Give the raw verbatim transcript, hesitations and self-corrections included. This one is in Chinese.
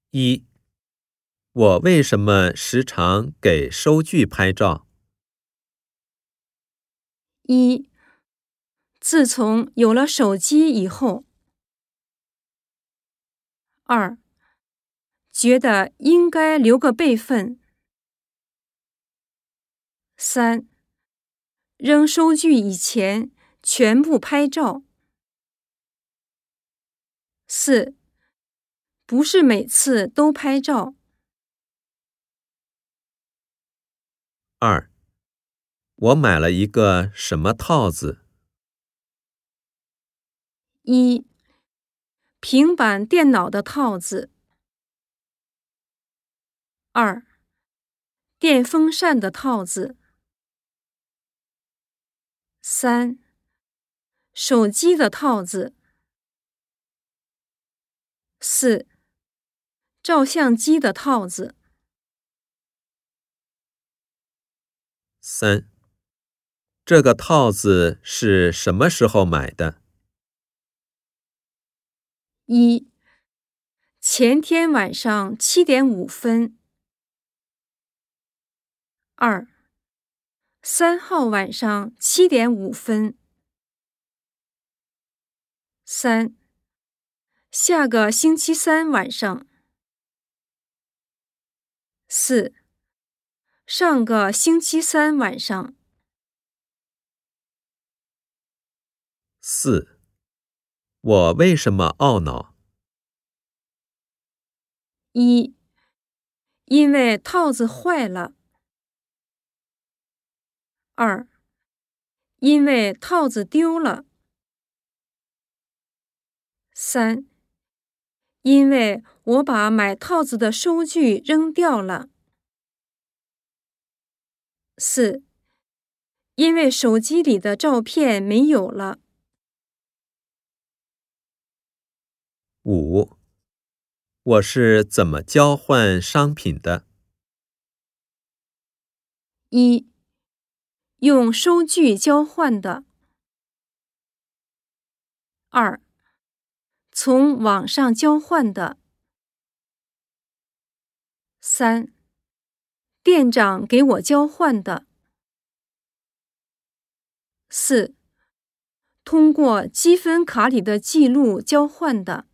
一、我为什么时常给收据拍照？ 一、自从有了手机以后。二、觉得应该留个备份。三、扔收据以前全部拍照。四、不是每次都拍照。 二、我买了一个什么套子？ 一、平板电脑的套子。二、电风扇的套子。三、手机的套子。四、照相机的套子。 三、这个套子是什么时候买的？ 一、前天晚上七点五分。二、三号晚上七点五分。三、下个星期三晚上。四、上个星期三晚上。 四、我为什么懊恼？ 一、因为套子坏了。二、因为套子丢了。三、因为我把买套子的收据扔掉了。四、因为手机里的照片没有了。 五、我是怎么交换商品的？ 一、用收据交换的。二、从网上交换的。三、店长给我交换的。四、通过积分卡里的记录交换的。